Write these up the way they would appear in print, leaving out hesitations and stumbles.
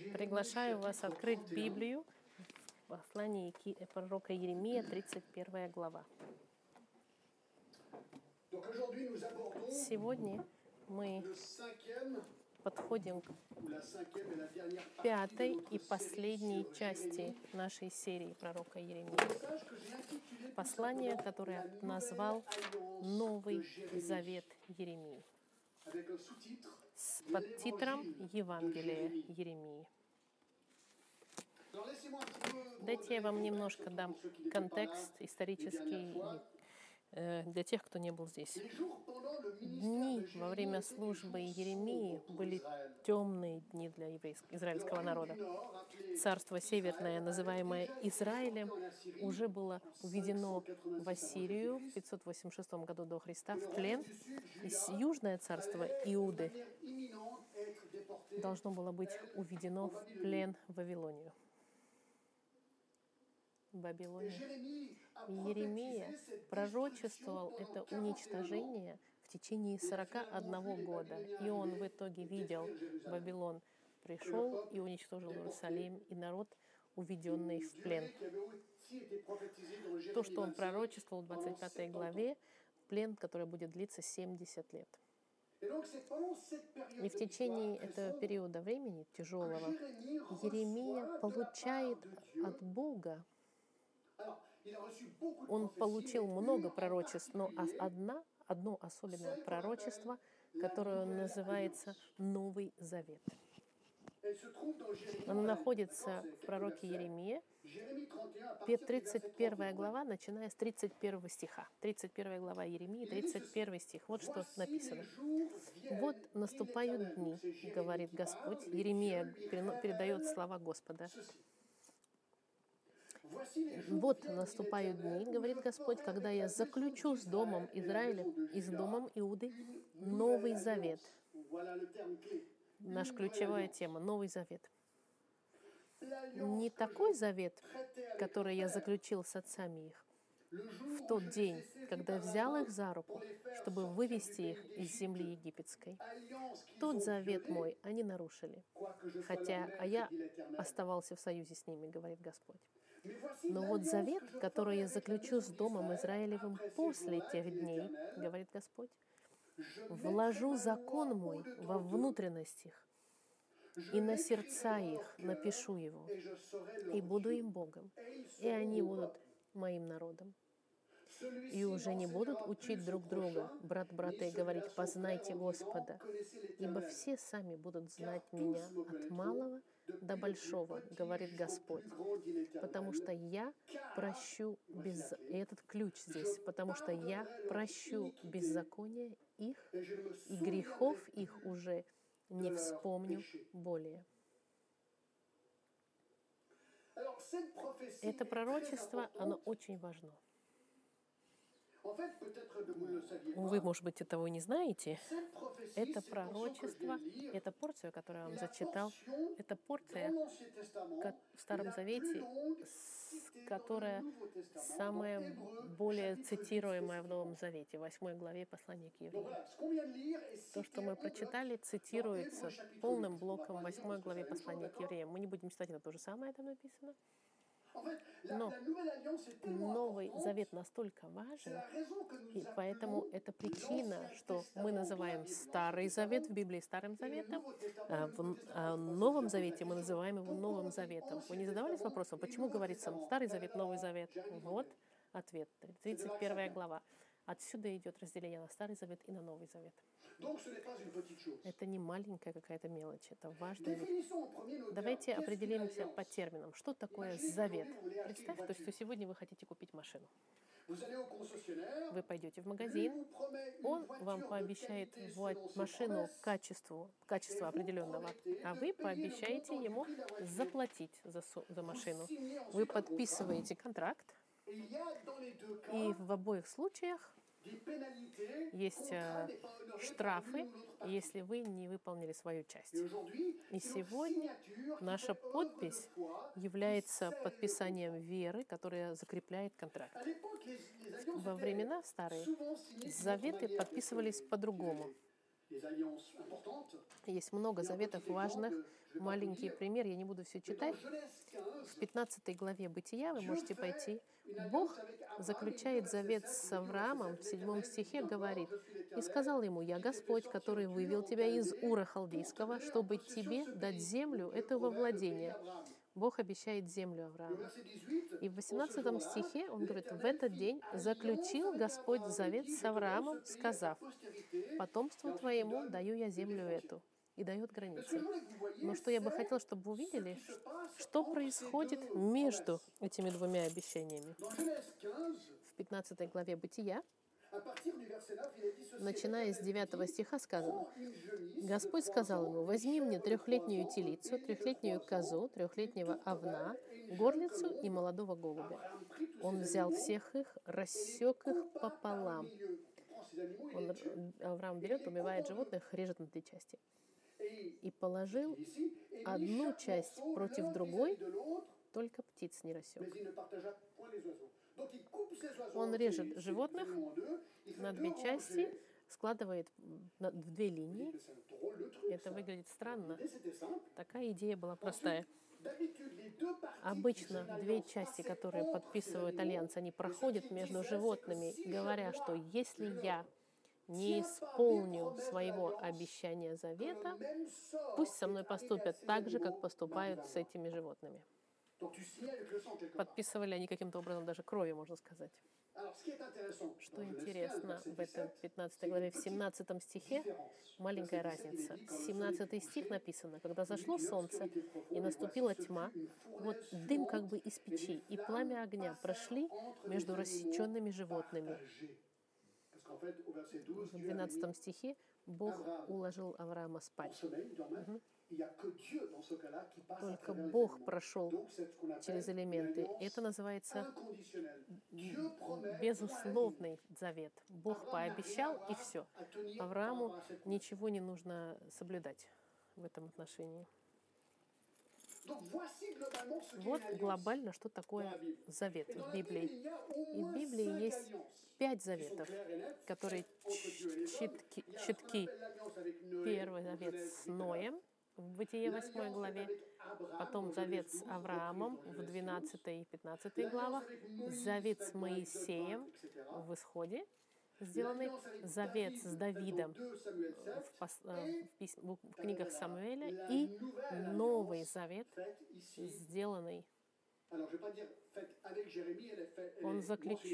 Приглашаю вас открыть Библию в послании пророка Иеремия, 31 глава. Сегодня мы подходим к пятой и последней части нашей серии пророка Иеремии. Послание, которое я назвал «Новый завет Иеремии» с подтитром «Евангелие Иеремии». Дайте я вам немножко дам контекст исторический для тех, кто не был здесь. Дни во время службы Иеремии были темные дни для израильского народа. Царство Северное, называемое Израилем, уже было уведено в Ассирию в 586 году до Христа в плен. И Южное царство Иуды должно было быть уведено в плен в Вавилонию. Иеремия пророчествовал это уничтожение в течение 41 года. И он в итоге видел, Вавилон пришел и уничтожил Иерусалим и народ, уведенный в плен. То, что он пророчествовал в 25 главе, плен, который будет длиться 70 лет. И в течение этого периода времени, тяжелого, Иеремия получает от Бога, он получил много пророчеств, но одно особенное пророчество, которое называется Новый Завет. Оно находится в пророке Иеремии, 31 глава, начиная с 31 стиха. 31 глава Иеремии, 31 стих. Вот что написано. «Вот наступают дни, говорит Господь». Иеремия передает слова Господа. «Вот наступают дни, говорит Господь, когда я заключу с домом Израиля и с домом Иуды Новый Завет». Наша ключевая тема — Новый Завет. Не такой завет, который я заключил с отцами их в тот день, когда я взял их за руку, чтобы вывести их из земли египетской. Тот завет мой они нарушили, хотя я оставался в союзе с ними, говорит Господь. Но вот завет, который я заключу с домом Израилевым после тех дней, говорит Господь, вложу закон мой во внутренность их, и на сердца их напишу его, и буду им Богом, и они будут моим народом. И уже не будут учить друг друга, брат брата, и говорить: познайте Господа, ибо все сами будут знать меня от малого до большого, говорит Господь, потому что я прощу и этот ключ здесь, потому что я прощу беззаконие их, и грехов их уже не вспомню более. Это пророчество, оно очень важно. Вы, может быть, этого не знаете. Это пророчество, эта порция, которую я вам зачитал, это порция в Старом Завете, которая самая более цитируемая в Новом Завете, в 8 главе послания к евреям. То, что мы прочитали, цитируется полным блоком в 8 главе послания к евреям. Мы не будем читать, это то же самое там написано. Но Новый Завет настолько важен, и поэтому это причина, что мы называем Старый Завет в Библии Старым Заветом, а в Новом Завете мы называем его Новым Заветом. Вы не задавались вопросом, почему говорится Старый Завет, Новый Завет? Вот ответ, 31 глава. Отсюда идет разделение на Старый Завет и на Новый Завет. Это не маленькая какая-то мелочь, это важная вещь. Давайте определимся по терминам. Что такое завет? Представьте, что сегодня вы хотите купить машину. Вы пойдете в магазин, он вам пообещает машину качества определенного, а вы пообещаете ему заплатить за машину. Вы подписываете контракт, и в обоих случаях есть штрафы, если вы не выполнили свою часть. И сегодня наша подпись является подписанием веры, которая закрепляет контракт. Во времена старые заветы подписывались по-другому. Есть много заветов важных. Маленький пример, я не буду все читать. В 15 главе Бытия вы можете пойти. Бог заключает завет с Авраамом, в 7 стихе говорит, «И сказал ему, я Господь, который вывел тебя из Ура Халдейского, чтобы тебе дать землю эту во владение». Бог обещает землю Аврааму. И в 18 стихе он говорит, «В этот день заключил Господь завет с Авраамом, сказав, потомству твоему даю я землю эту». И дает границы. Но что я бы хотела, чтобы вы увидели, что происходит между этими двумя обещаниями. В 15 главе Бытия, начиная с 9 стиха, сказано, «Господь сказал ему, возьми мне 3-летнюю телицу, 3-летнюю козу, 3-летнего овна, горлицу и молодого голубя». Он взял всех их, рассек их пополам. Авраам берет, убивает животных, режет на 3 части. И положил одну часть против другой, только птиц не рассек. Он режет животных на 2 части, складывает в 2 линии. Это выглядит странно. Такая идея была простая. Обычно 2 части, которые подписывают альянс, они проходят между животными, говоря, что если я не исполню своего обещания завета, пусть со мной поступят так же, как поступают с этими животными. Подписывали они каким-то образом даже кровью, можно сказать. Что интересно, в этой 15 главе, в 17 стихе маленькая разница. 17 стих написано, «Когда зашло солнце и наступила тьма, вот дым как бы из печи и пламя огня прошли между рассеченными животными». В 12 стихе Бог уложил Авраама спать. Только Бог прошел через элементы. Это называется безусловный завет. Бог пообещал, и все. Аврааму ничего не нужно соблюдать в этом отношении. Вот глобально, что такое завет в Библии. И в Библии есть 5 заветов, которые четки. Первый завет с Ноем в Бытие 8 главе, потом завет с Авраамом в 12 и 15 главах, завет с Моисеем в Исходе, сделанный завет с Давидом в книгах Самуэля и Новый Завет, сделанный. Он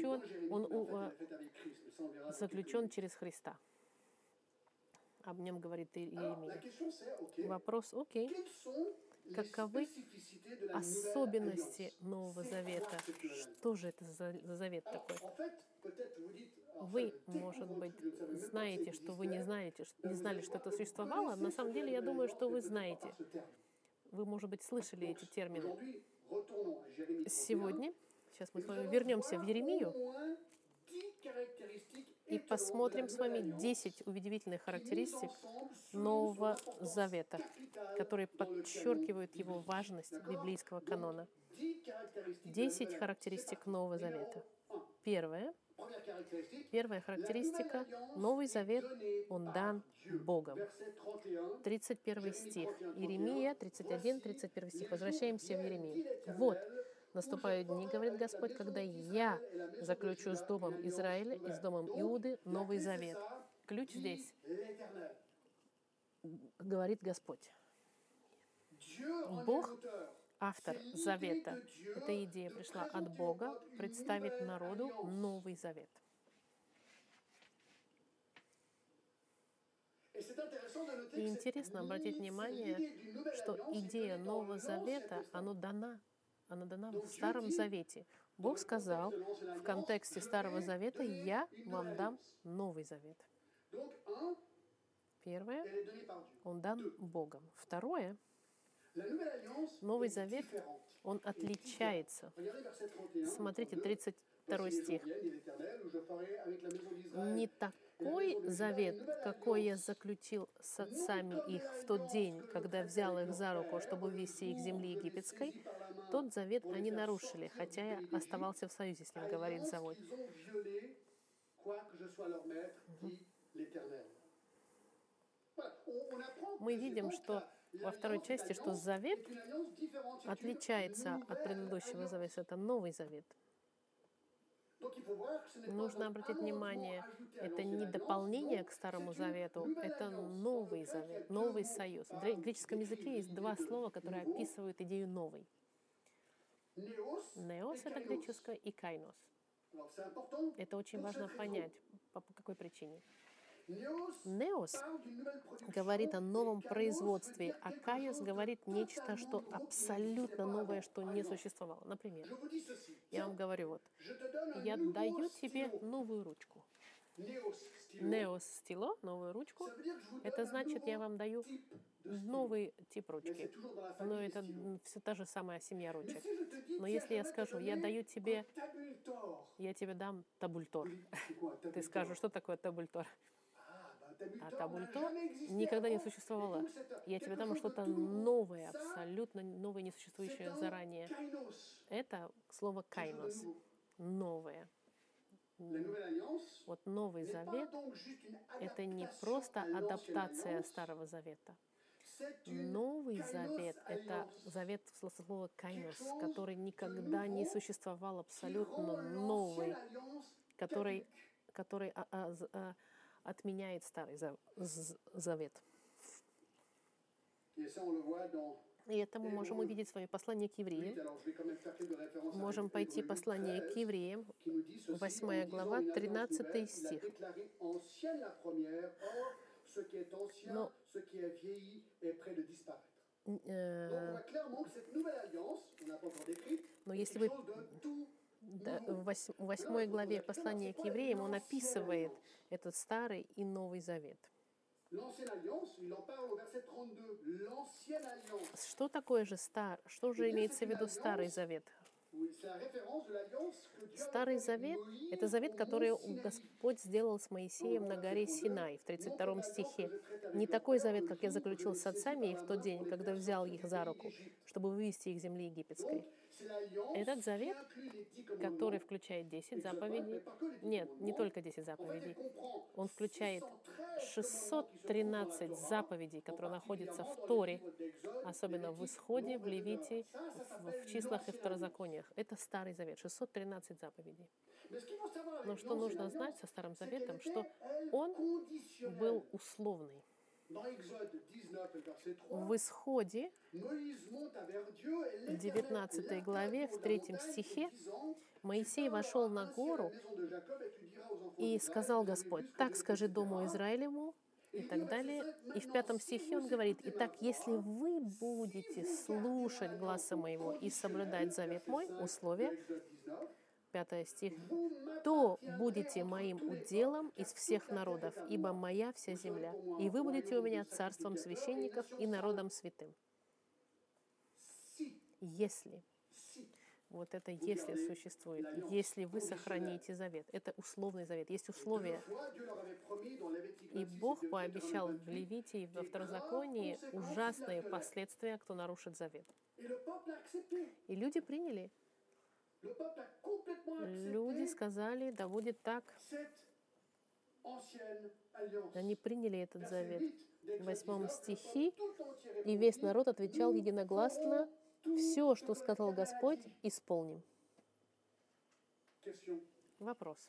заключен через Христа. Об нем говорит Иеремия. Вопрос, окей. Каковы особенности Нового Завета? Что же это за завет такой? Вы, может быть, знаете, что вы не знали, что это существовало. На самом деле, я думаю, что вы знаете. Вы, может быть, слышали эти термины. Сегодня, сейчас мы с вами вернемся в Еремию и посмотрим с вами 10 удивительных характеристик Нового Завета, которые подчеркивают его важность библейского канона. 10 характеристик Нового Завета. Первая характеристика — Новый Завет, он дан Богом. 31 стих. Иеремия 31, 31 стих. Возвращаемся в Иеремию. «Вот, наступают дни, говорит Господь, когда я заключу с домом Израиля и с домом Иуды Новый Завет». Ключ здесь. Говорит Господь. Бог, автор завета. Эта идея пришла от Бога представить народу Новый Завет. И интересно обратить внимание, что идея Нового Завета, она дана в Старом Завете. Бог сказал в контексте Старого Завета: «Я вам дам Новый Завет». Первое, он дан Богом. Второе, Новый Завет, он отличается. Смотрите, 32 стих. «Не такой завет, какой я заключил с отцами их в тот день, когда взял их за руку, чтобы вывести их с земли египетской, тот завет они нарушили, хотя я оставался в союзе с ним», говорит Завод. Мы видим, что во второй части, что завет отличается от предыдущего завета. Это Новый Завет. Нужно обратить внимание, это не дополнение к Старому Завету, это Новый Завет, Новый Союз. В греческом языке есть два слова, которые описывают идею «новый». Неос — это греческое, и кайнос. Это очень важно понять, по какой причине. Неос говорит о новом производстве, а кайос говорит нечто, что абсолютно новое, что не существовало. Например, я вам говорю, вот, я даю тебе новую ручку. Неос стило, новую ручку. Это значит, я вам даю новый тип ручки. Но это все та же самая семья ручек. Но если я скажу, я тебе дам табультор, ты скажешь, что такое табультор? А табультор никогда не существовало. Я тебе дам что-то новое, абсолютно новое, несуществующее заранее. Это слово «кайнос». Новое. Вот Новый Завет — это не просто адаптация Старого Завета. Новый Завет — это завет слова «кайнос», который никогда не существовал, абсолютно новый, который отменяет Старый Завет. И это мы можем увидеть в своем послании к евреям. Можем пойти послание к евреям, 8 глава, 13 стих. Но если вы в 8 главе послания к евреям, он описывает этот Старый и Новый Завет. Что такое же что же имеется в виду Старый Завет? Старый Завет — это завет, который Господь сделал с Моисеем на горе Синай, в 32 стихе. Не такой завет, как я заключил с отцами в тот день, когда взял их за руку, чтобы вывести их из земли египетской. Этот завет, который включает 10 заповедей, нет, не только 10 заповедей, он включает 613 заповедей, которые находятся в Торе, особенно в Исходе, в Левите, в Числах и Второзакониях. Это Старый Завет, 613 заповедей. Но что нужно знать со Старым Заветом, что он был условный. В Исходе, в 19 главе, в 3 стихе, Моисей вошел на гору и сказал Господь: «Так скажи дому Израилеву», и так далее. И в 5 стихе он говорит: «Итак, если вы будете слушать гласа моего и соблюдать завет мой», условие, 5 стих, «то будете моим уделом из всех народов, ибо моя вся земля, и вы будете у меня царством священников и народом святым». Если. Вот это «если» существует. Если вы сохраните завет. Это условный завет. Есть условия. И Бог пообещал в Левите и во Второзаконии ужасные последствия, кто нарушит завет. И люди приняли. Люди сказали: да будет так. Они приняли этот завет. В 8 стихе: «И весь народ отвечал единогласно: все, что сказал Господь, исполним». Вопрос.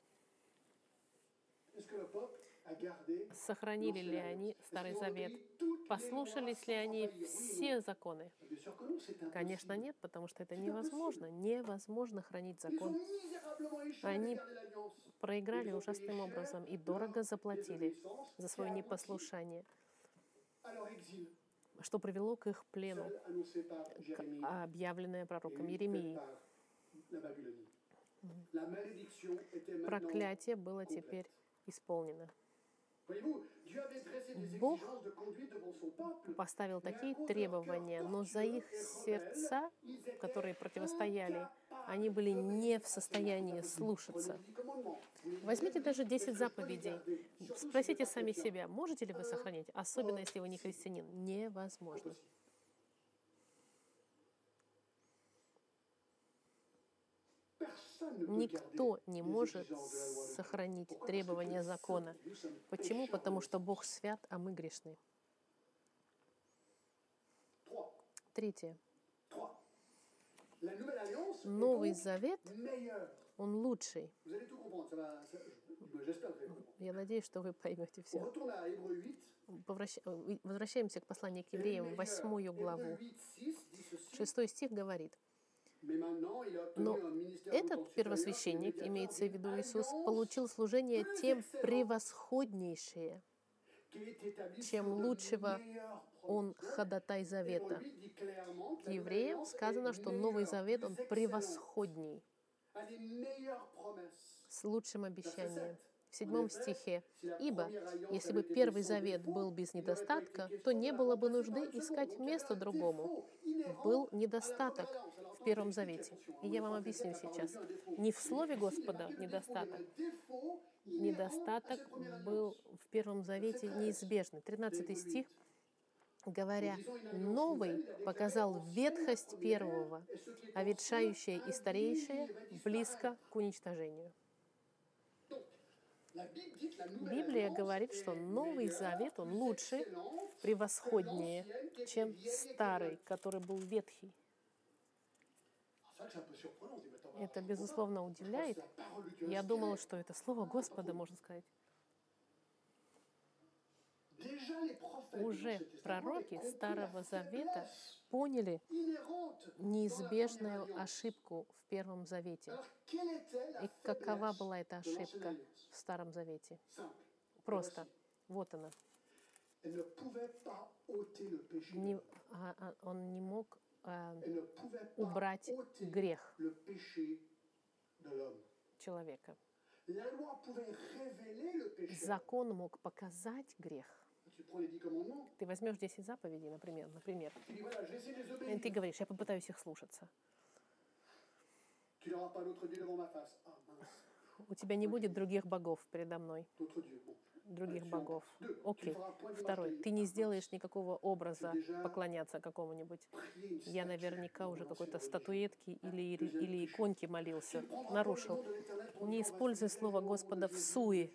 Сохранили ли они Старый Завет? Послушались ли они все законы? Конечно, нет, потому что это невозможно. Невозможно хранить закон. Они проиграли ужасным образом и дорого заплатили за свое непослушание, что привело к их плену, объявленное пророком Иеремией. Проклятие было теперь исполнено. Бог поставил такие требования, но за их сердца, которые противостояли, они были не в состоянии слушаться. Возьмите даже 10 заповедей. Спросите сами себя, можете ли вы сохранить, особенно если вы не христианин. Невозможно. Никто не может сохранить требования закона. Почему? Потому что Бог свят, а мы грешны. Третье. Новый Завет, он лучший. Я надеюсь, что вы поймете все. Возвращаемся к посланию к евреям, 8 главу. 6 стих говорит: «Но этот первосвященник, имеется в виду Иисус, получил служение тем превосходнейшее, чем лучшего он ходатай завета». К евреям сказано, что Новый Завет, он превосходней, с лучшим обещанием. В 7 стихе: «Ибо, если бы первый завет был без недостатка, то не было бы нужды искать место другому». Был недостаток в Первом Завете. И я вам объясню сейчас. Не в Слове Господа недостаток. Недостаток был в Первом Завете неизбежный. 13 стих, говоря: «Новый показал ветхость первого, а ветшающее и старейшее близко к уничтожению». Библия говорит, что Новый Завет, он лучше, превосходнее, чем старый, который был ветхий. Это, безусловно, удивляет. Я думала, что это слово Господа, можно сказать. Уже пророки Старого Завета поняли неизбежную ошибку в Первом Завете. И какова была эта ошибка в Старом Завете? Просто. Вот она. Он не мог убрать грех человека. Закон мог показать грех. Ты возьмешь 10 заповедей, например. И ты говоришь: я попытаюсь их слушаться. У тебя не будет других богов передо мной. Других богов. Окей. 2. Ты не сделаешь никакого образа поклоняться какому-нибудь. Я наверняка уже какой-то статуэтке или иконке молился. Нарушил. Не используй слово Господа в суе.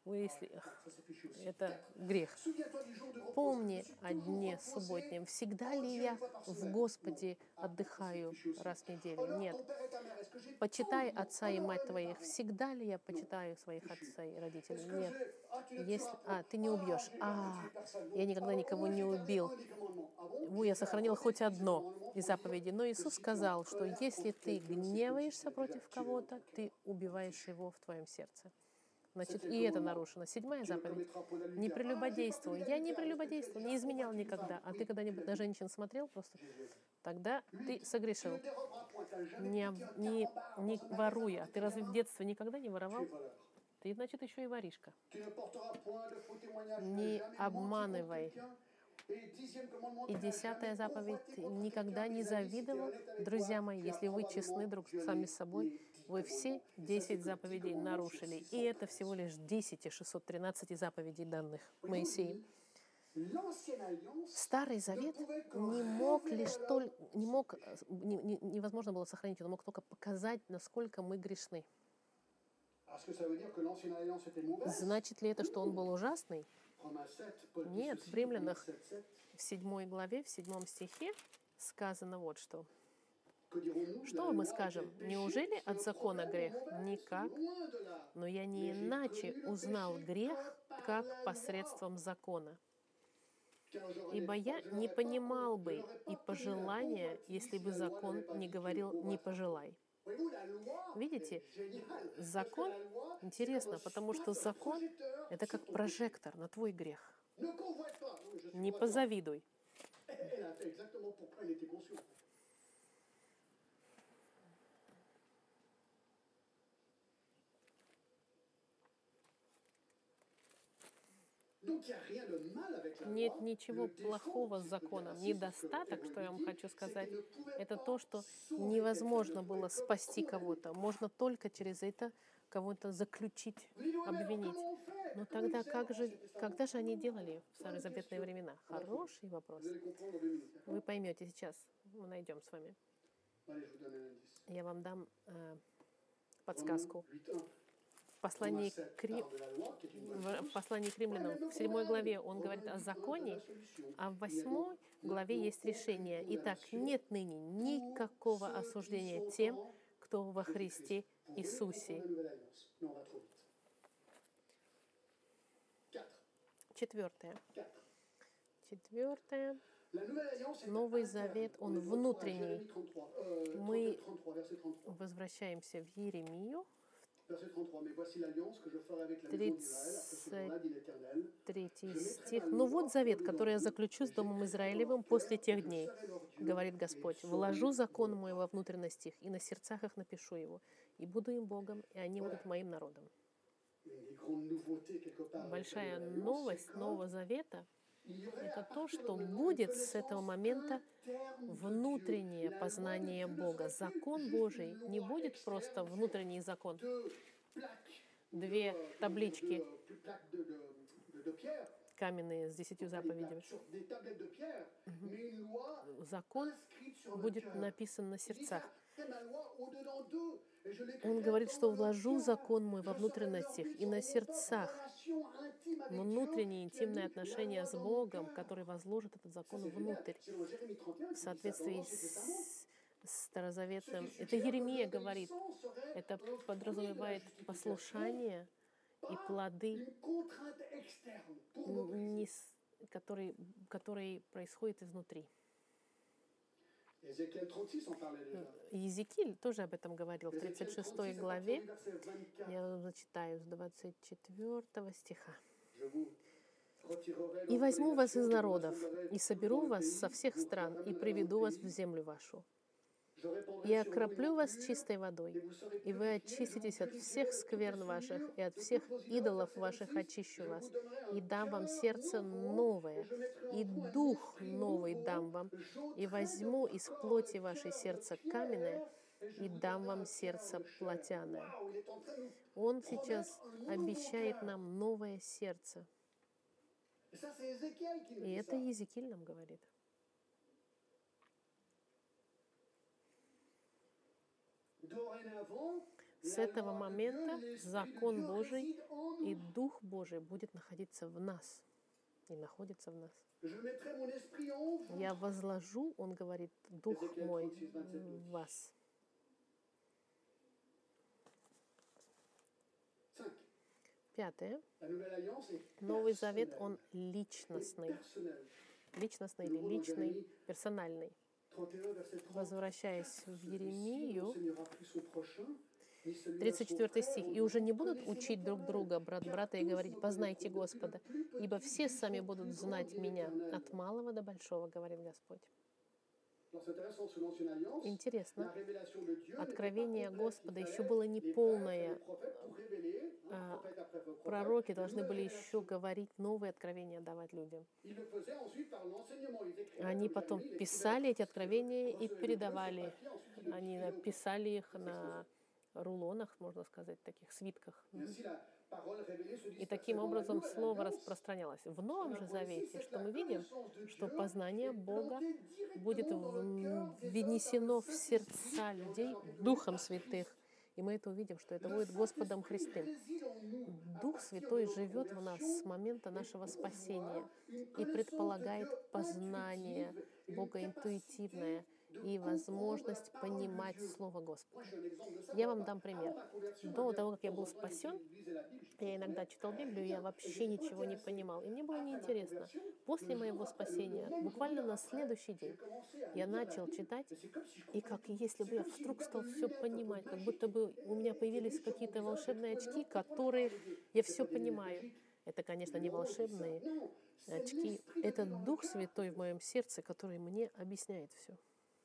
Это грех. Помни о дне субботнем. Всегда ли я в Господе отдыхаю раз в неделю? Нет. Почитай отца и мать твоих. Всегда ли я почитаю своих отца и родителей? Нет. Ты не убьешь. Я никогда никого не убил. Я сохранил хоть одно из заповедей. Но Иисус сказал, что если ты гневаешься против кого-то, ты убиваешь его в твоем сердце. Значит, и это нарушено. 7 заповедь. Не прелюбодействуй. Я не прелюбодействовал, не изменял никогда. А ты когда-нибудь на женщин смотрел просто? Тогда ты согрешил. Не воруй. А ты разве в детстве никогда не воровал? Ты, значит, еще и воришка. Не обманывай. И 10 заповедь: никогда не завидовал. Друзья мои, если вы честны друг сами с собой, вы все 10 заповедей нарушили. И это всего лишь 10 из 613 заповедей, данных Моисеем. Старый Завет невозможно было сохранить, он мог только показать, насколько мы грешны. Значит ли это, что он был ужасный? Нет, в Римлянах в 7 главе, в 7 стихе сказано вот что. Что мы скажем? Неужели от закона грех? Никак. Но я не иначе узнал грех, как посредством закона. Ибо я не понимал бы и пожелания, если бы закон не говорил «не пожелай». Видите, закон интересно, потому что закон — это как прожектор на твой грех. Не позавидуй. Нет ничего плохого с законом. Недостаток, что я вам хочу сказать, это то, что невозможно было спасти кого-то. Можно только через это кого-то заключить, обвинить. Но тогда когда же они делали в старозаветные времена? Хороший вопрос. Вы поймете сейчас. Мы найдем с вами. Я вам дам подсказку. послании в послании к римлянам, в 7 главе, он говорит о законе, а в 8 главе есть решение. Итак, нет ныне никакого осуждения тем, кто во Христе Иисусе. 4. Новый Завет, он внутренний. Мы возвращаемся в Иеремию, 33 стих. «Ну вот завет, который я заключу с Домом Израилевым после тех дней, говорит Господь. Вложу закон мой во внутренность их, и на сердцах их напишу его, и буду им Богом, и они будут моим народом». Большая новость Нового Завета — это то, что будет с этого момента внутреннее познание Бога. Закон Божий не будет просто внутренний закон. 2 таблички каменные с 10 заповедями. Закон будет написан на сердцах. Он говорит, что вложу закон мой во внутренность их, и на сердцах внутренние интимные отношения с Богом, который возложит этот закон внутрь. В соответствии с старозаветным. Это Иеремия говорит. Это подразумевает послушание и плоды, которые происходят изнутри. Иезекииль тоже об этом говорил в 36 главе. Я зачитаю с 24 стиха. «И возьму вас из народов, и соберу вас со всех стран, и приведу вас в землю вашу. И окроплю вас чистой водой, и вы очиститесь от всех скверн ваших, и от всех идолов ваших очищу вас, и дам вам сердце новое, и дух новый дам вам, и возьму из плоти вашей сердце каменное, и дам вам сердце плотяное». Он сейчас обещает нам новое сердце. И это Иезекииль нам говорит. С этого момента закон Божий и Дух Божий будет находиться в нас и находится в нас. Я возложу, он говорит, Дух мой в вас. 5. Новый Завет, он личностный. Личностный или личный, персональный. Возвращаясь в Иеремию, 34 стих. «И уже не будут учить друг друга, брат брата, и говорить: познайте Господа, ибо все сами будут знать меня, от малого до большого, говорит Господь». Интересно, откровение Господа еще было не полное. Пророки должны были еще говорить новые откровения, давать людям. Они потом писали эти откровения и передавали. Они писали их на рулонах, можно сказать, таких свитках. И таким образом слово распространялось. В Новом же Завете, что мы видим, что познание Бога будет внесено в сердца людей Духом Святых. И мы это увидим, что это будет Господом Христом. Дух Святой живет в нас с момента нашего спасения и предполагает познание Бога интуитивное и возможность понимать Слово Господа. Я вам дам пример. До того, как я был спасен, я иногда читал Библию, я вообще ничего не понимал. И мне было неинтересно. После моего спасения, буквально на следующий день, я начал читать, и как если бы я вдруг стал все понимать, как будто бы у меня появились какие-то волшебные очки, которые я все понимаю. Это, конечно, не волшебные очки. Это Дух Святой в моем сердце, который мне объясняет все.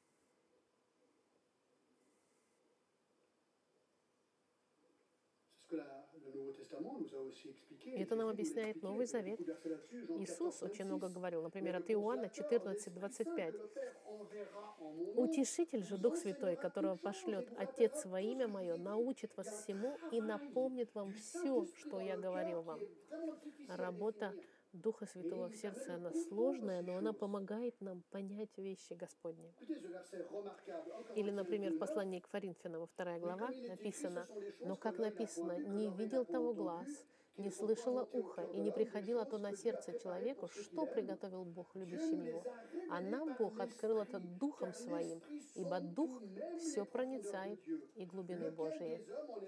И это нам объясняет Новый Завет. Иисус очень много говорил, например, от Иоанна 14, 25. «Утешитель же, Дух Святой, которого пошлет Отец во имя Мое, научит вас всему и напомнит вам все, что я говорил вам». Работа Духа Святого в сердце, она сложная, но она помогает нам понять вещи Господни. Или, например, в послании к Коринфянам, 2 глава, написано: «Но, как написано, не видел того глаз, не слышало ухо, и не приходило то на сердце человеку, что приготовил Бог любящим его. А нам Бог открыл это Духом Своим, ибо Дух все проницает и глубины Божии».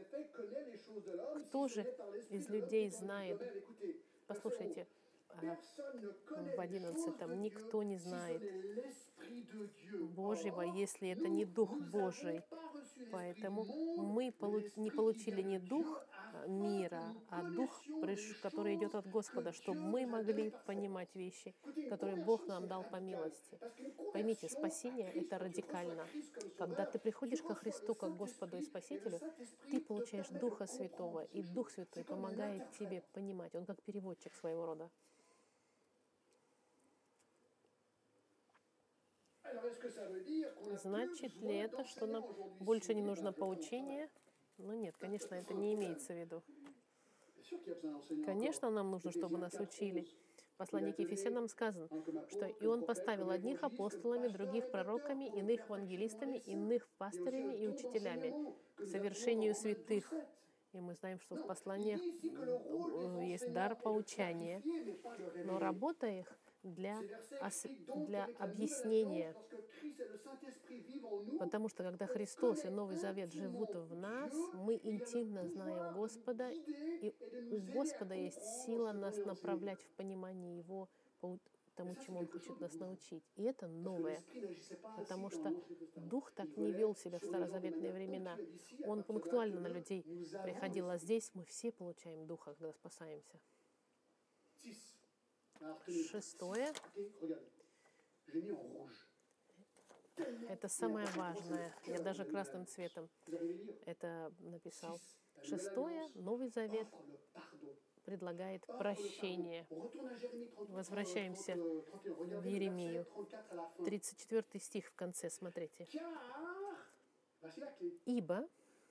Кто же из людей знает, послушайте, в 11-м, никто не знает Божьего, если это не Дух Божий. Поэтому мы не получили не дух мира, а дух, который идет от Господа, чтобы мы могли понимать вещи, которые Бог нам дал по милости. Поймите, спасение — это радикально. Когда ты приходишь ко Христу как Господу и Спасителю, ты получаешь Духа Святого, и Дух Святой помогает тебе понимать. Он как переводчик своего рода. Значит ли это, что нам больше не нужно поучение? Ну нет, конечно, это не имеется в виду. Конечно, нам нужно, чтобы нас учили. В послании к Ефесянам сказано, что «И Он поставил одних апостолами, других пророками, иных евангелистами, иных пастырями и учителями к совершению святых». И мы знаем, что в посланиях есть дар поучания, но работа их для объяснения. Потому что когда Христос и Новый Завет живут в нас, мы интимно знаем Господа, и у Господа есть сила нас направлять в понимание Его, по тому, чему Он хочет нас научить. И это новое, потому что Дух так не вел себя в старозаветные времена. Он пунктуально на людей приходил, а здесь мы все получаем Духа, когда спасаемся. 6. Это самое важное. Я даже красным цветом это написал. 6. Новый Завет предлагает прощение. Возвращаемся в Иеремию. 34 стих в конце, смотрите. «Ибо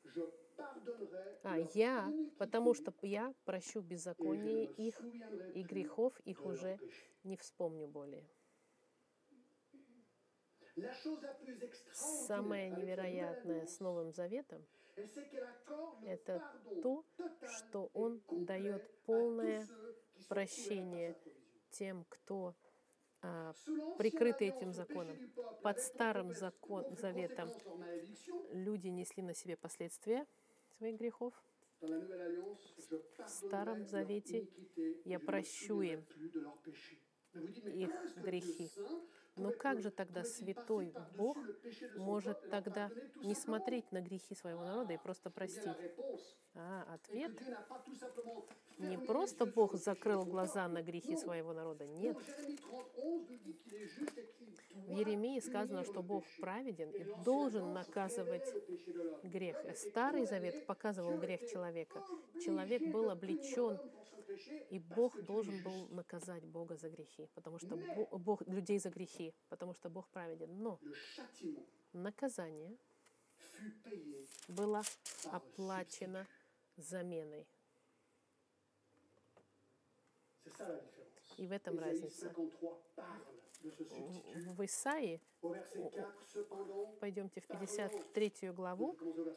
потому что я прощу беззаконие их, и грехов их уже не вспомню более». Самое невероятное с Новым Заветом — это то, что Он дает полное прощение тем, кто прикрыты этим законом. Под Старым Заветом люди несли на себе последствия своих грехов. В Старом Завете я прощу им их грехи. Но как же тогда святой Бог может тогда не смотреть на грехи своего народа и просто простить? Ответ — не просто Бог закрыл глаза на грехи своего народа, нет. В Иеремии сказано, что Бог праведен и должен наказывать грех. Старый Завет показывал грех человека. Человек был облечен, и Бог должен был наказать Бога за грехи, потому что Бог людей за грехи, потому что Бог праведен. Но наказание было оплачено заменой. И в этом разница. В Исаии, пойдемте в 53 главу,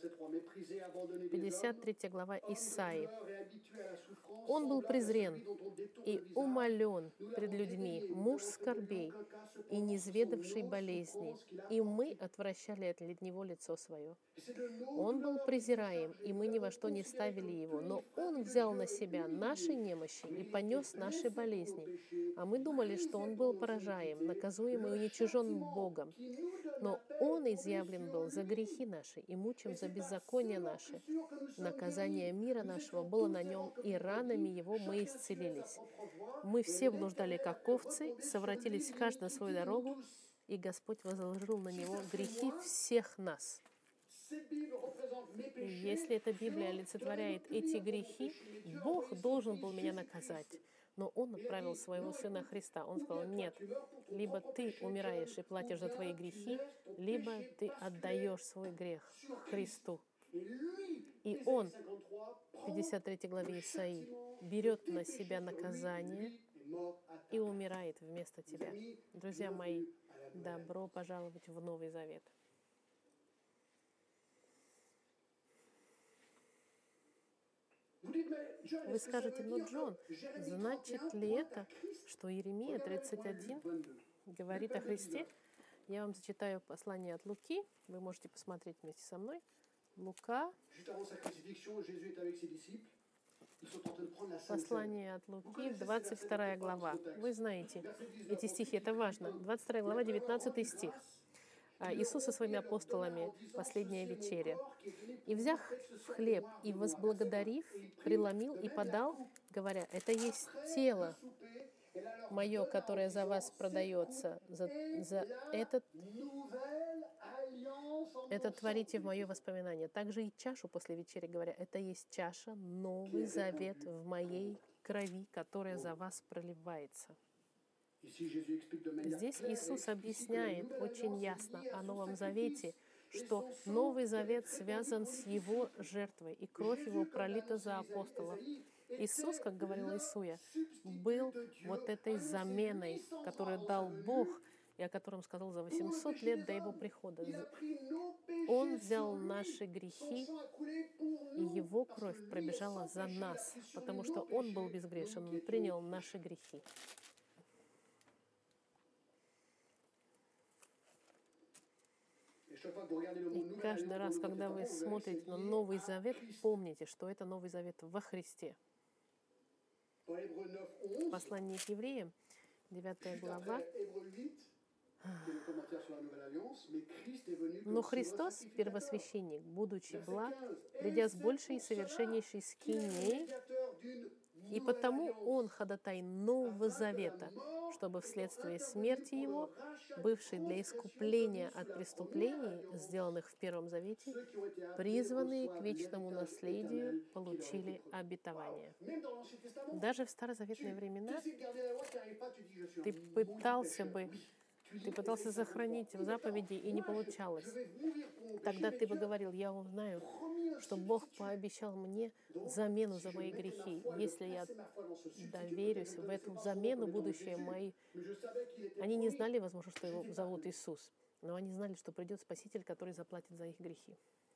53 глава Исаии. «Он был презрен и умолен пред людьми, муж скорбей и низведавший болезни, и мы отвращали от него лицо свое. Он был презираем, и мы ни во что не ставили его, но он взял на себя наши немощи и понес наши болезни. А мы думали, что он был поражаем, наказуем и уничижен Богом. Но он изъявлен был за грехи наши и мучим за беззакония наши. Наказание мира нашего было на нем, и ранами его мы исцелились. Мы все блуждали, как овцы, совратились каждый на свою дорогу, и Господь возложил на него грехи всех нас». Если эта Библия олицетворяет эти грехи, Бог должен был меня наказать. Но Он отправил своего Сына Христа. Он сказал: нет, либо ты умираешь и платишь за твои грехи, либо ты отдаешь свой грех Христу. И Он, в 53 главе Исаии, берет на себя наказание и умирает вместо тебя. Друзья мои, добро пожаловать в Новый Завет. Вы скажете, ну, Джон, значит ли это, что Иеремия 31 говорит о Христе? Я вам зачитаю послание от Луки. Вы можете посмотреть вместе со мной. Лука. Послание от Луки, 22 глава. Вы знаете, эти стихи, это важно. 22 глава, 19 стих. Иисус со своими апостолами, последняя вечеря. «И взяв хлеб, и возблагодарив, преломил и подал, говоря, это есть тело мое, которое за вас продается, за это творите в мое воспоминание. Также и чашу после вечери, говоря, это есть чаша, Новый Завет в моей крови, которая за вас проливается». Здесь Иисус объясняет очень ясно о Новом Завете, что Новый Завет связан с Его жертвой, и кровь Его пролита за апостолов. Иисус, как говорил Исуя, был вот этой заменой, которую дал Бог, и о котором сказал за 800 лет до Его прихода. Он взял наши грехи, и Его кровь пробежала за нас, потому что Он был безгрешен, Он принял наши грехи. И каждый раз, когда вы смотрите на Новый Завет, помните, что это Новый Завет во Христе. Послание к евреям, 9 глава. «Но Христос, первосвященник, будучи благ, придя с большей и совершеннейшей скинией, и потому Он ходатай Нового Завета, чтобы вследствие смерти Его, бывший для искупления от преступлений, сделанных в Первом Завете, призванные к вечному наследию, получили обетование». Даже в старозаветные времена ты пытался сохранить заповеди, и не получалось. Тогда ты бы говорил, я узнаю, что Бог пообещал мне замену за мои грехи. Если я доверюсь в эту замену, будущее мои... Они не знали, возможно, что его зовут Иисус, но они знали, что придет Спаситель, который заплатит за их грехи.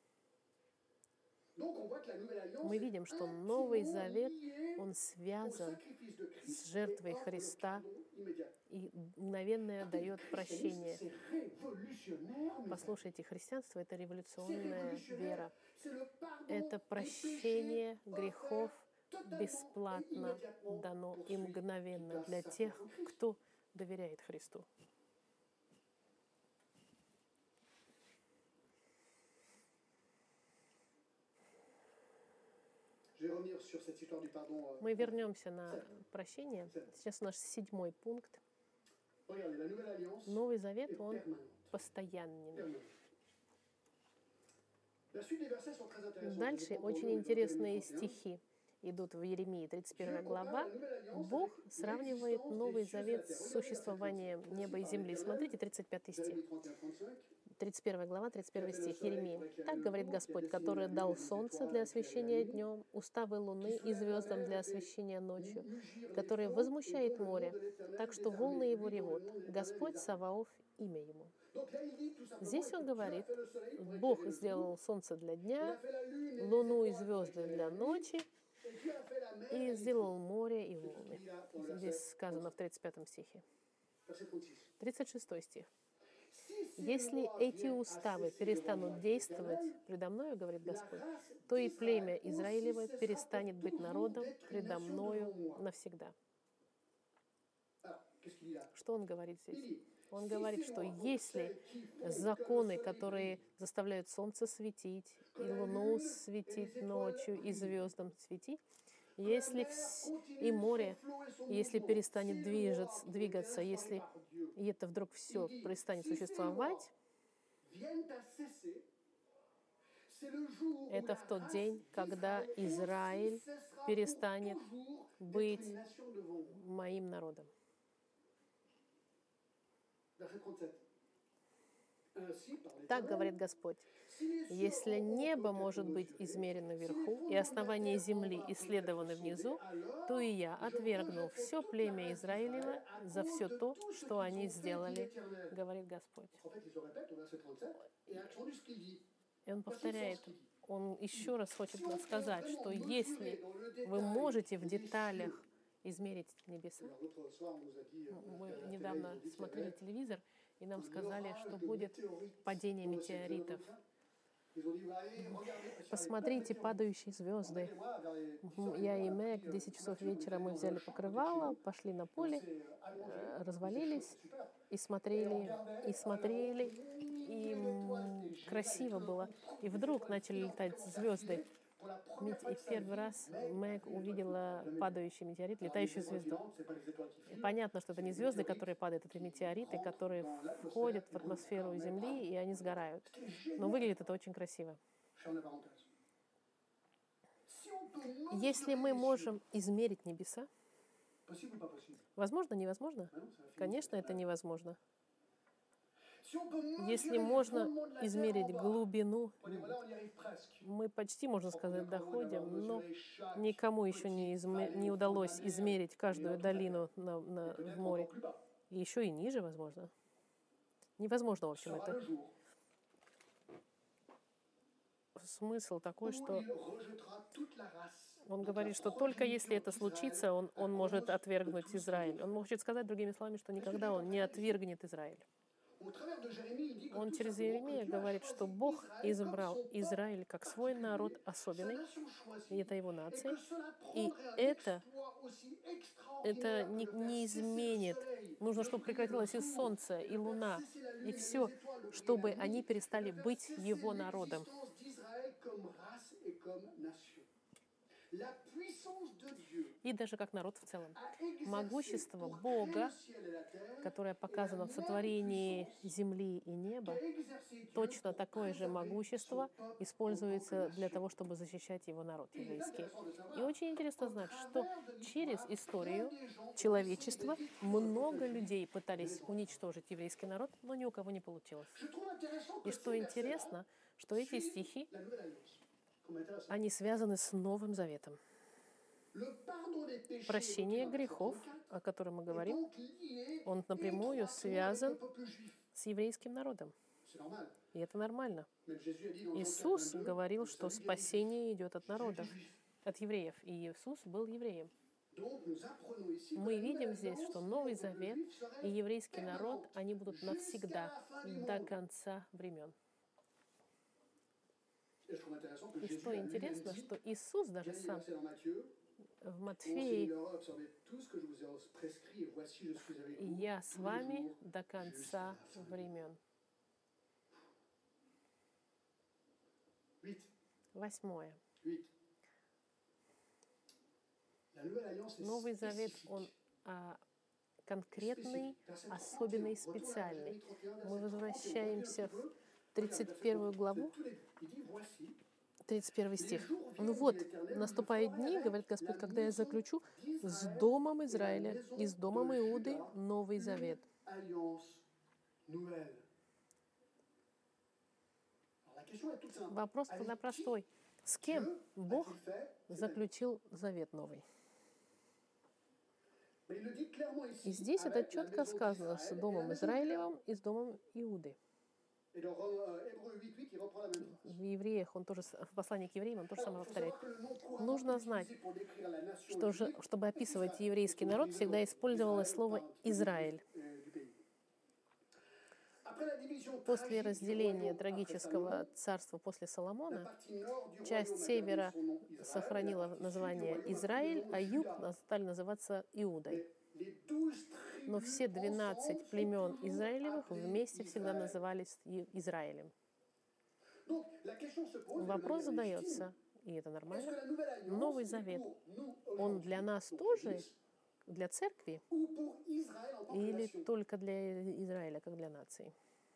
Мы видим, что Новый Завет, он связан с жертвой Христа и мгновенно дает прощение. Послушайте, христианство — это революционная вера. Это прощение грехов бесплатно дано и мгновенно для тех, кто доверяет Христу. Мы вернемся на прощение. Сейчас наш 7 пункт. Новый Завет, он постоянный. Дальше очень интересные стихи идут в Иеремии, 31 глава. Бог сравнивает Новый Завет с существованием неба и земли. Смотрите, 35 стих. 31 глава, 31 стих Иеремии. «Так говорит Господь, который дал солнце для освещения днем, уставы луны и звездам для освещения ночью, который возмущает море, так что волны его ревут. Господь Саваоф — имя ему». Здесь он говорит, Бог сделал солнце для дня, луну и звезды для ночи, и сделал море и волны. Здесь сказано в 35 стихе. 36 стих. «Если эти уставы перестанут действовать предо мною, говорит Господь, то и племя Израилево перестанет быть народом предо мною навсегда». Что он говорит здесь? Он говорит, что если законы, которые заставляют солнце светить, и луну светить ночью, и звездам светить, если и море, если перестанет двигаться, если и это вдруг все перестанет существовать, это в тот день, когда Израиль перестанет быть моим народом. Так говорит Господь. Если небо может быть измерено вверху, и основание земли исследованы внизу, то и я отвергну все племя Израилева за все то, что они сделали, говорит Господь. И он повторяет, он еще раз хочет сказать, что если вы можете в деталях измерить небеса. Мы недавно смотрели телевизор, и нам сказали, что будет падение метеоритов. Посмотрите падающие звезды. Я и Мэг в 10 часов вечера мы взяли покрывало, пошли на поле, развалились и смотрели, и красиво было. И вдруг начали летать звезды. И в первый раз Мэг увидела падающий метеорит, летающую звезду. И понятно, что это не звезды, которые падают, это метеориты, которые входят в атмосферу Земли, и они сгорают. Но выглядит это очень красиво. Если мы можем измерить небеса, возможно, невозможно? Конечно, это невозможно. Если можно измерить глубину, мы почти, можно сказать, доходим, но никому еще не удалось измерить каждую долину в море. И еще и ниже, возможно. Невозможно, в общем, это. Смысл такой, что он говорит, что только если это случится, он может отвергнуть Израиль. Он может сказать, другими словами, что никогда он не отвергнет Израиль. Он через Иеремию говорит, что Бог избрал Израиль как свой народ особенный, и это его нация, и это не изменит. Нужно, чтобы прекратилось и солнце, и луна, и все, чтобы они перестали быть его народом. И даже как народ в целом. Могущество Бога, которое показано в сотворении земли и неба, точно такое же могущество используется для того, чтобы защищать его народ еврейский. И очень интересно знать, что через историю человечества много людей пытались уничтожить еврейский народ, но ни у кого не получилось. И что интересно, что эти стихи, они связаны с Новым Заветом. Прощение грехов, о котором мы говорим, он напрямую связан с еврейским народом. И это нормально. Иисус говорил, что спасение идет от народов, от евреев. И Иисус был евреем. Мы видим здесь, что Новый Завет и еврейский народ, они будут навсегда, до конца времен. И что интересно, что Иисус даже сам в Матфеи: «Я с вами до конца времен». 8. Новый Завет, он конкретный, особенный, специальный. Мы возвращаемся в 31 главу, 31 стих. «Ну вот, наступают дни, говорит Господь, когда я заключу с домом Израиля и с домом Иуды Новый Завет». Вопрос тогда простой. С кем Бог заключил завет новый? И здесь это четко сказано: с домом Израилевым и с домом Иуды. В Евреях он тоже, в послании к евреям он тоже самое повторяет. Нужно знать, что чтобы описывать еврейский народ, всегда использовалось слово «Израиль». После разделения трагического царства после Соломона, часть севера сохранила название Израиль, а юг стали называться Иудой. Но все 12 племен Израилевых вместе всегда назывались Израилем. Вопрос задается, и это нормально, Новый Завет, он для нас тоже, для церкви, или только для Израиля, как для нации?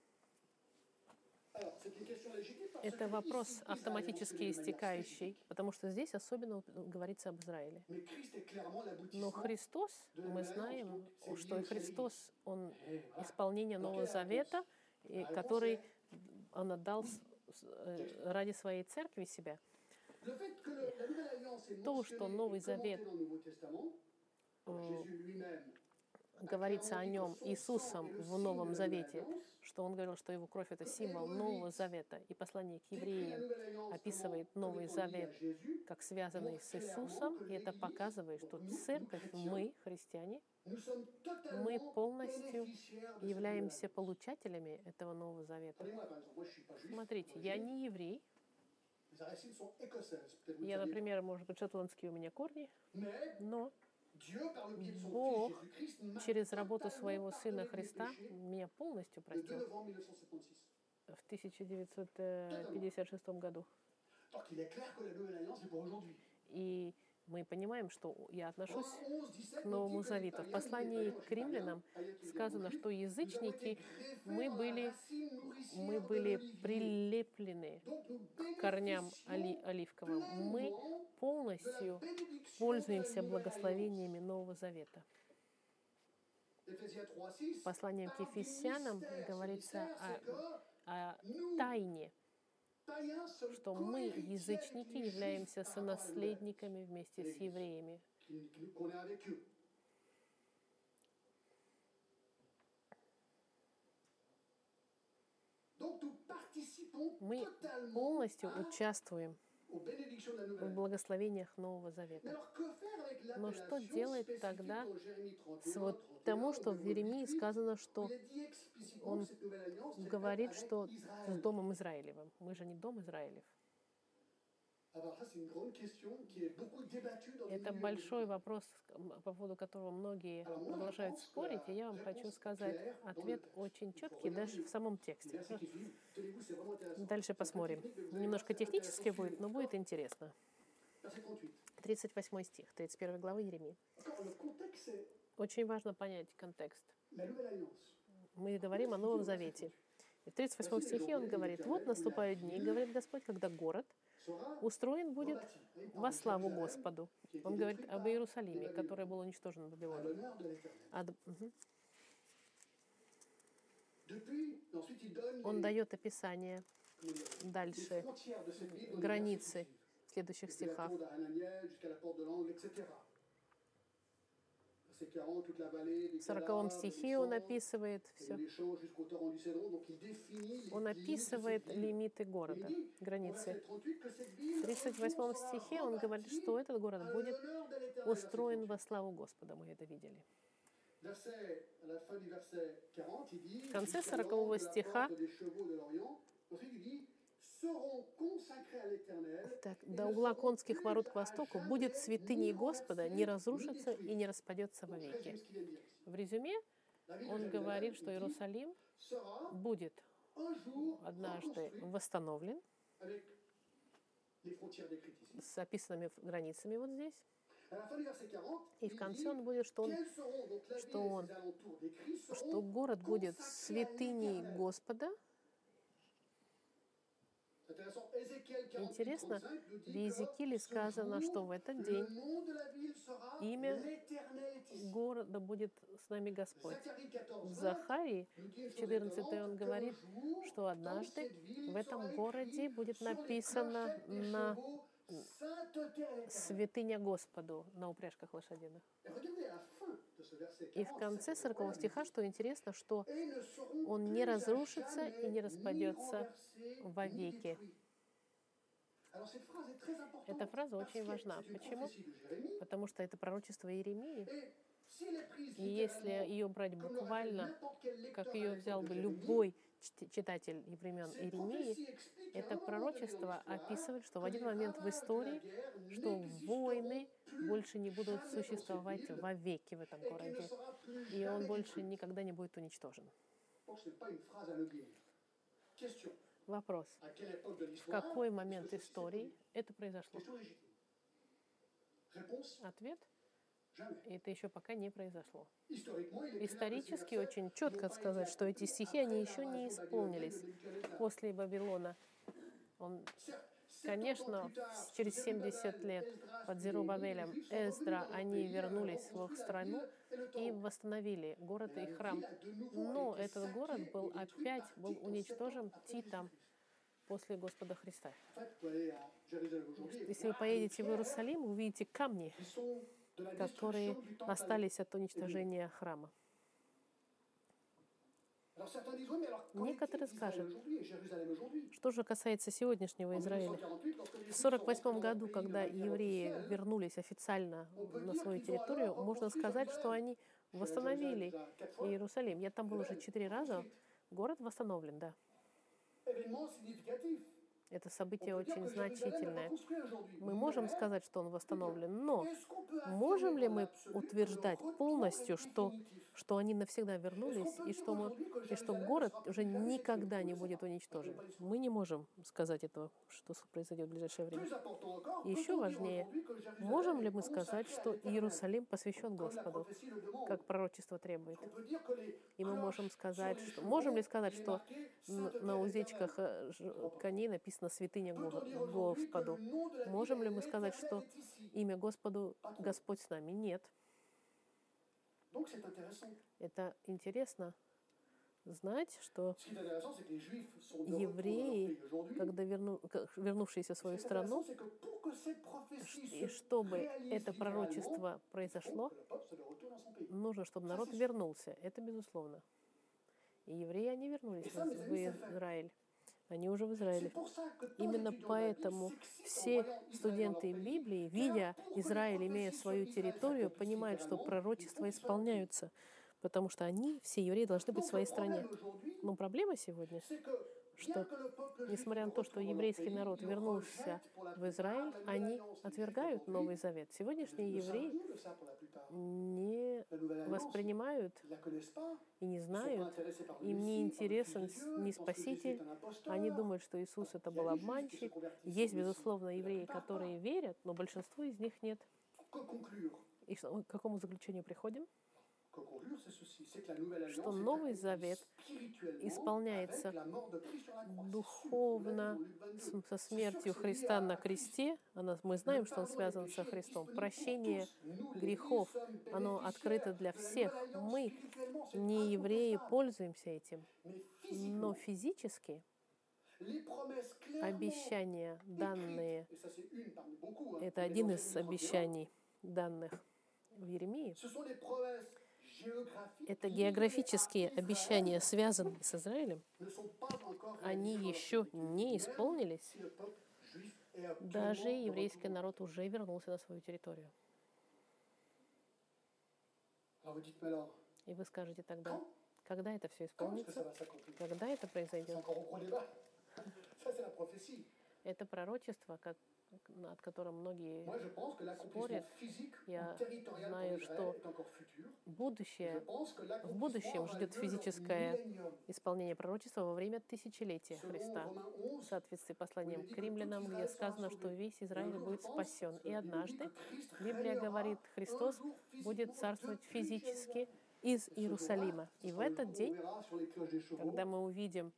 Это вопрос автоматически истекающий, потому что здесь особенно говорится об Израиле. Но Христос, мы знаем, что Христос, Он исполнение Нового Завета, который Он отдал ради своей церкви себя. То, что Новый Завет говорится о нем Иисусом в Новом Завете, что он говорил, что его кровь — это символ Нового Завета, и послание к евреям описывает Новый Завет как связанный с Иисусом, и это показывает, что церковь, мы, христиане, мы полностью являемся получателями этого Нового Завета. Смотрите, я не еврей. Я, например, может быть, шотландские у меня корни, но Бог через работу своего Сына Христа меня полностью простил в 1956 году. И мы понимаем, что я отношусь к Новому Завету. В послании к римлянам сказано, что язычники, мы были прилеплены к корням оливковым. Мы полностью пользуемся благословениями Нового Завета. Посланием к Ефесянам говорится о тайне, что мы, язычники, являемся сонаследниками вместе с евреями. Мы полностью участвуем в благословениях Нового Завета. Но что делать тогда с тому, что в Иеремии сказано, что он говорит, что с Домом Израилевым? Мы же не Дом Израилев. Это большой вопрос, по поводу которого многие продолжают спорить, и я вам хочу сказать, ответ очень четкий даже в самом тексте. Дальше посмотрим. Немножко технически будет, но будет интересно. 38 стих, 31 главы Иеремии. Очень важно понять контекст. Мы говорим о Новом Завете. И в 38 стихе он говорит: «Вот наступают дни, говорит Господь, когда город устроен будет во славу Господу». Он говорит об Иерусалиме, который был уничтожен Вавилоном. Он дает описание дальше, границы в следующих стихах. В 40 стихе он описывает все. Он описывает лимиты города, границы. В 38 стихе он говорит, что этот город будет устроен во славу Господа. Мы это видели. В конце 40 стиха так, до угла конских ворот к востоку будет святыней Господа, не разрушится и не распадется вовеки. В резюме он говорит, что Иерусалим будет однажды восстановлен с описанными границами вот здесь. И в конце он будет, что город будет святыней Господа. Интересно, в Иезекииле сказано, что в этот день имя города будет с нами Господь. В Захарии, в 14 он говорит, что однажды в этом городе будет написано на святыня Господу на упряжках лошадиных. И в конце 40 стиха, что интересно, что он не разрушится и не распадется вовеки. Эта фраза очень важна. Почему? Потому что это пророчество Иеремии. И если ее брать буквально, как ее взял бы любой читатель времен Иеремии, это пророчество описывает, что в один момент в истории, что войны больше не будут существовать вовеки в этом городе, и он больше никогда не будет уничтожен. Вопрос. В какой момент истории это произошло? Ответ. Это еще пока не произошло. Исторически очень четко сказать, что эти стихи, они еще не исполнились. После Вавилона Конечно, через 70 лет под Зерубабелем Эздра они вернулись в их страну и восстановили город и храм. Но этот город был уничтожен Титом после Господа Христа. Если вы поедете в Иерусалим, вы увидите камни, которые остались от уничтожения храма. Некоторые скажут, что же касается сегодняшнего Израиля. В 1948 году, когда евреи вернулись официально на свою территорию, можно сказать, что они восстановили Иерусалим. Я там был уже 4 раза. Город восстановлен, да. Это событие очень значительное. Мы можем сказать, что он восстановлен, но можем ли мы утверждать полностью, что они навсегда вернулись, и что город уже никогда не будет уничтожен? Мы не можем сказать этого, что произойдет в ближайшее время. И еще важнее, можем ли мы сказать, что Иерусалим посвящен Господу, как пророчество требует? И мы можем ли сказать, что на уздечках коней написано «Святыня Господу»? Можем ли мы сказать, что имя Господу Господь с нами? Нет. Это интересно знать, что евреи, когда вернувшиеся в свою страну, и чтобы это пророчество произошло, нужно, чтобы народ вернулся. Это безусловно. И евреи, они вернулись в Израиль. Они уже в Израиле. Именно поэтому все студенты Библии, видя Израиль, имея свою территорию, понимают, что пророчества исполняются, потому что они, все евреи, должны быть в своей стране. Но проблема сегодня, что, несмотря на то, что еврейский народ вернулся в Израиль, они отвергают Новый Завет. Сегодняшние евреи не воспринимают и не знают, им не интересен ни Спаситель. Они думают, что Иисус это был обманщик. Есть, безусловно, евреи, которые верят, но большинство из них нет. И к какому заключению приходим? Что Новый Завет исполняется духовно со смертью Христа на кресте. Мы знаем, что он связан со Христом. Прощение грехов, оно открыто для всех. Мы, не евреи, пользуемся этим. Но физически обещания, данные, это один из обещаний, данных в Иеремии, это географические обещания, связанные с Израилем, они еще не исполнились. Даже еврейский народ уже вернулся на свою территорию. И вы скажете тогда, когда это все исполнится? Когда это произойдет? Это пророчество, над которым многие спорят. Я знаю, что в будущем ждет физическое исполнение пророчества во время тысячелетия Христа. В соответствии с посланием к римлянам, где сказано, что весь Израиль будет спасен. И однажды Библия говорит, Христос будет царствовать физически из Иерусалима. И в этот день, когда мы увидим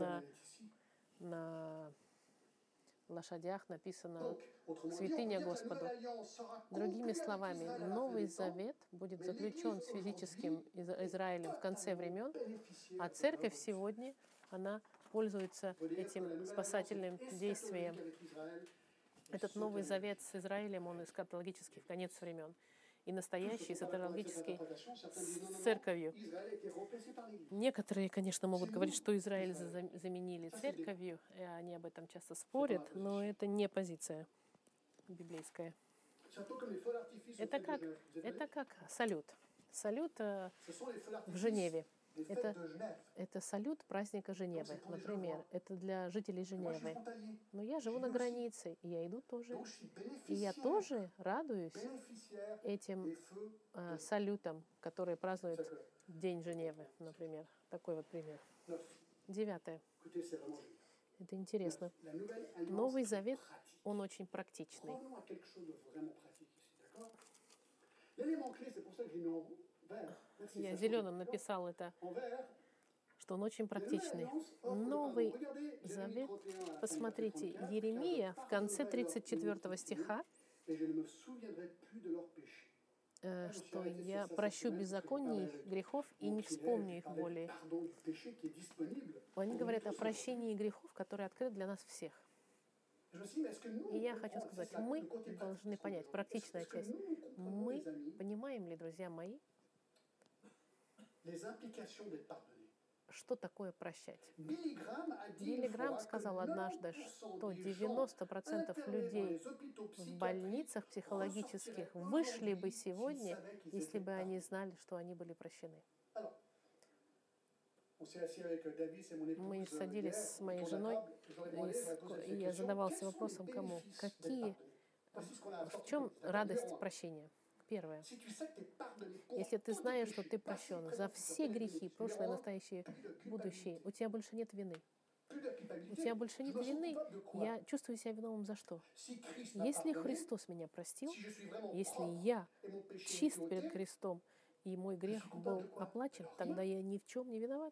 на лошадях написано «Святыня Господу». Другими словами, Новый Завет будет заключен с физическим Израилем в конце времен, а церковь сегодня, она пользуется этим спасательным действием. Этот Новый Завет с Израилем, он эсхатологический в конец времен. И настоящий эсхатологический с церковью. Некоторые, конечно, могут говорить, что Израиль заменили церковью, и они об этом часто спорят, но это не позиция библейская. Это как салют. Салют в Женеве. Это салют праздника Женевы, например. Это для жителей Женевы. Но я живу на границе, и я иду тоже. И я тоже радуюсь этим салютам, которые празднуют День Женевы, например. Такой вот пример. 9. Это интересно. Новый Завет, он очень практичный. Я зеленым написал это. что он очень практичный. Новый Завет, посмотрите, Еремия в конце 34 стиха, что я прощу беззаконий их, грехов и не вспомню их более. Они говорят о прощении грехов, которые открыты для нас всех. И я хочу сказать, мы должны понять, практичная часть, мы понимаем ли, друзья мои, что такое прощать? Билли Грахам сказал однажды, что 90% людей в больницах психологических вышли бы сегодня, если бы они знали, что они были прощены. Мы садились с моей женой, и я задавался вопросом, кому? В чем радость прощения? Первое. Если ты знаешь, что ты прощен за все грехи, прошлое, настоящее, будущее, у тебя больше нет вины. У тебя больше нет вины. Я чувствую себя виновным за что? Если Христос меня простил, если я чист перед Христом, и мой грех был оплачен, тогда я ни в чем не виноват.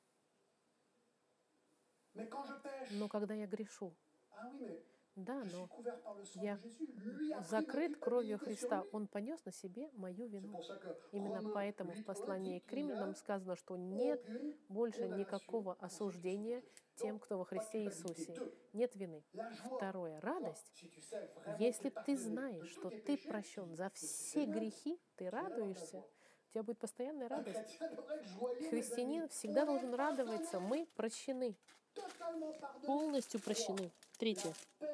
Но когда я грешу, да, но я закрыт кровью Христа. Он понес на себе мою вину. Именно поэтому в послании к Римлянам сказано, что нет больше никакого осуждения тем, кто во Христе Иисусе. Нет вины. Второе. Радость. Если ты знаешь, что ты прощен за все грехи, ты радуешься. У тебя будет постоянная радость. Христианин всегда должен радоваться. Мы прощены. Полностью прощены. Третье.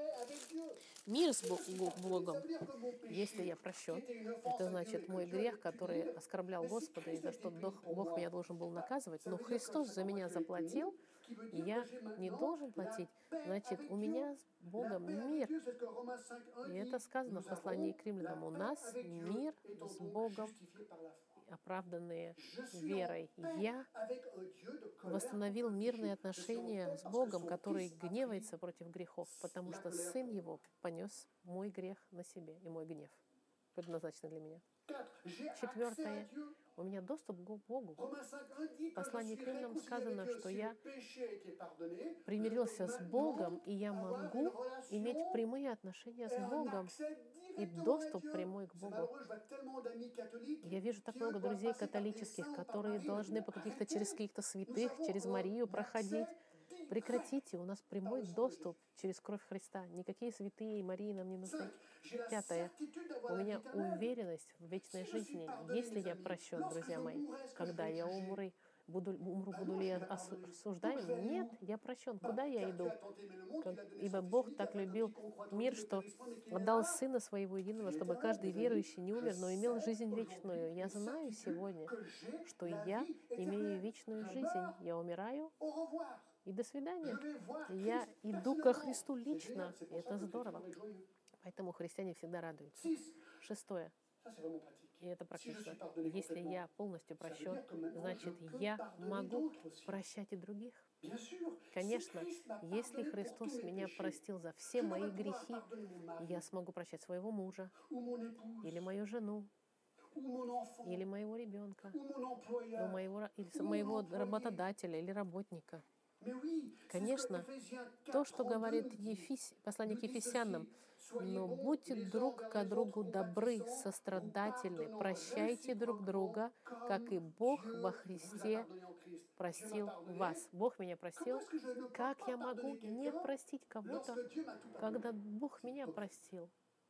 Мир с Богом. Если я прощен, это значит мой грех, который оскорблял Господа, и за что Бог меня должен был наказывать. Но Христос за меня заплатил, и я не должен платить. Значит, у меня с Богом мир. И это сказано в послании к Римлянам. У нас мир с Богом, оправданные верой. Я восстановил мирные отношения с Богом, который гневается против грехов, потому что Сын Его понес мой грех на себе и мой гнев, предназначенный для меня. Четвертое. У меня доступ к Богу. В послании к Римлянам сказано, что я примирился с Богом, и я могу иметь прямые отношения с Богом и доступ прямой к Богу. Я вижу так много друзей католических, которые должны через каких-то святых, через Марию проходить. Прекратите, у нас прямой доступ через кровь Христа. Никакие святые и Марии нам не нужны. Пятое. У меня уверенность в вечной жизни. Если я прощен, друзья мои, когда я умру, буду ли я осуждаем? Нет, я прощен. Куда я иду? Ибо Бог так любил мир, что отдал Сына Своего Единого, чтобы каждый верующий не умер, но имел жизнь вечную. Я знаю сегодня, что я имею вечную жизнь. Я умираю, и до свидания. Я иду ко Христу лично, и это здорово. Поэтому христиане всегда радуются. Шестое. И это практично. Если я полностью прощен, значит, я могу прощать и других. Конечно, если Христос меня простил за все мои грехи, я смогу прощать своего мужа, или мою жену, или моего ребенка, или моего работодателя или работника. Конечно, то, что говорит посланник Ефесянам, но будьте друг к другу добры, сострадательны, прощайте друг друга, как и Бог во Христе простил вас. Бог меня простил. Как я могу не простить кого-то, когда Бог меня простил?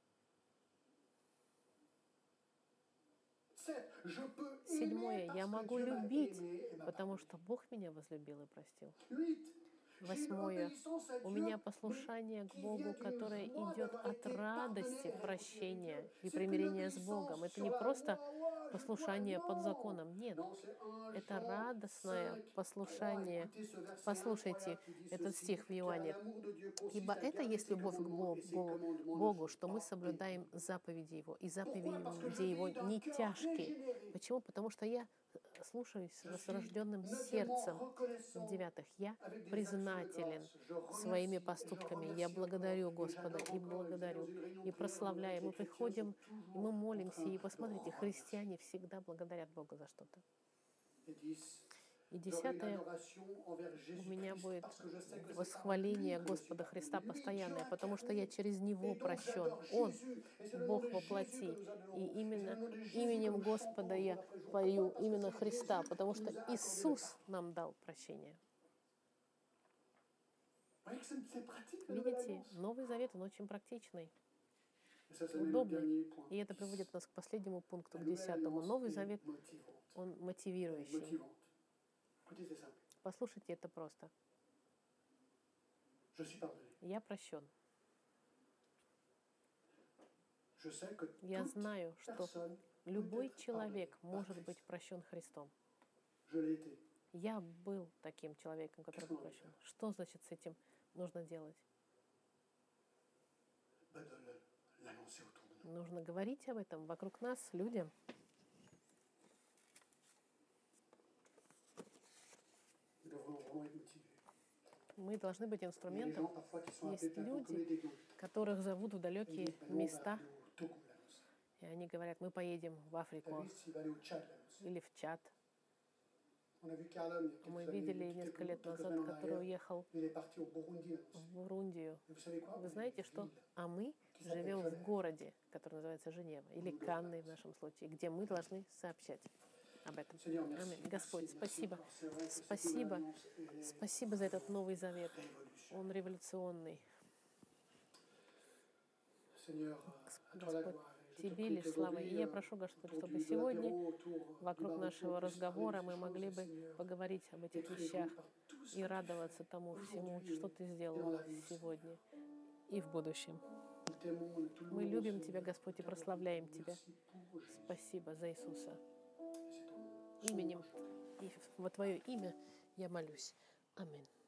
Седьмое. Я могу любить, потому что Бог меня возлюбил и простил. Восьмое. У меня послушание к Богу, которое идет от радости прощения и примирения с Богом. Это не просто послушание под законом. Нет. Это радостное послушание. Послушайте этот стих в Иоанне. «Ибо это есть любовь к Богу, что мы соблюдаем заповеди Его, и заповеди Его не тяжкие». Почему? Потому что я слушаюсь с рожденным сердцем. В-девятых, я признателен своими поступками. Я благодарю Господа и благодарю, и прославляю. Мы приходим, и мы молимся. И посмотрите, христиане всегда благодарят Бога за что-то. И 10 у меня будет восхваление Господа Христа постоянное, потому что я через Него прощен. Он Бог во плоти. И именно именем Господа я пою, именно Христа, потому что Иисус нам дал прощение. Видите, Новый Завет, он очень практичный, удобный. И это приводит нас к последнему пункту, к 10. Новый Завет, он мотивирующий. Послушайте, это просто. Я прощен. Я знаю, что любой человек может быть прощен Христом. Я был таким человеком, который был прощен. Что значит с этим нужно делать? Нужно говорить об этом вокруг нас, людям. Мы должны быть инструментом. Есть люди, которых зовут в далекие места, и они говорят, мы поедем в Африку или в Чад. Мы видели несколько лет назад, который уехал в Бурундию. Вы знаете что? А мы живем в городе, который называется Женева, или Канны в нашем случае, где мы должны сообщать об этом. Аминь. Господь, спасибо. Спасибо. Спасибо за этот Новый Завет. Он революционный. Господь, Тебе лишь слава. И я прошу, Господь, чтобы сегодня вокруг нашего разговора мы могли бы поговорить об этих вещах и радоваться тому всему, что Ты сделал сегодня и в будущем. Мы любим Тебя, Господь, и прославляем Тебя. Спасибо за Иисуса. Именем и во Твое имя я молюсь. Аминь.